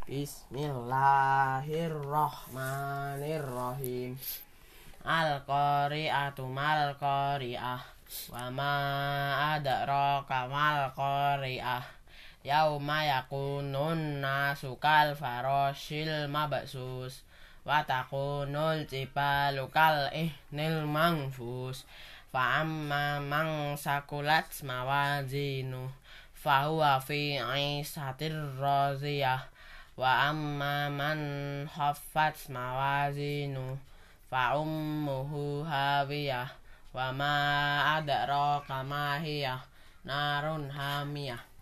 Bismillahirrahmanirrahim. Al-qari'atu mal qari'ah. Wa ma adraka mal qari'ah. Yauma yakunun nasu kal farashil mabsus. Wa takunul jibalu kal ihnil manfus. Fa amma man sakulat mawazinu fahuwa fi 'ishatir radiyah. Wa amma man khaffat mawazinu fa ummuhu hawiyah. Wa ma adraka ma hiya narun hamiyah.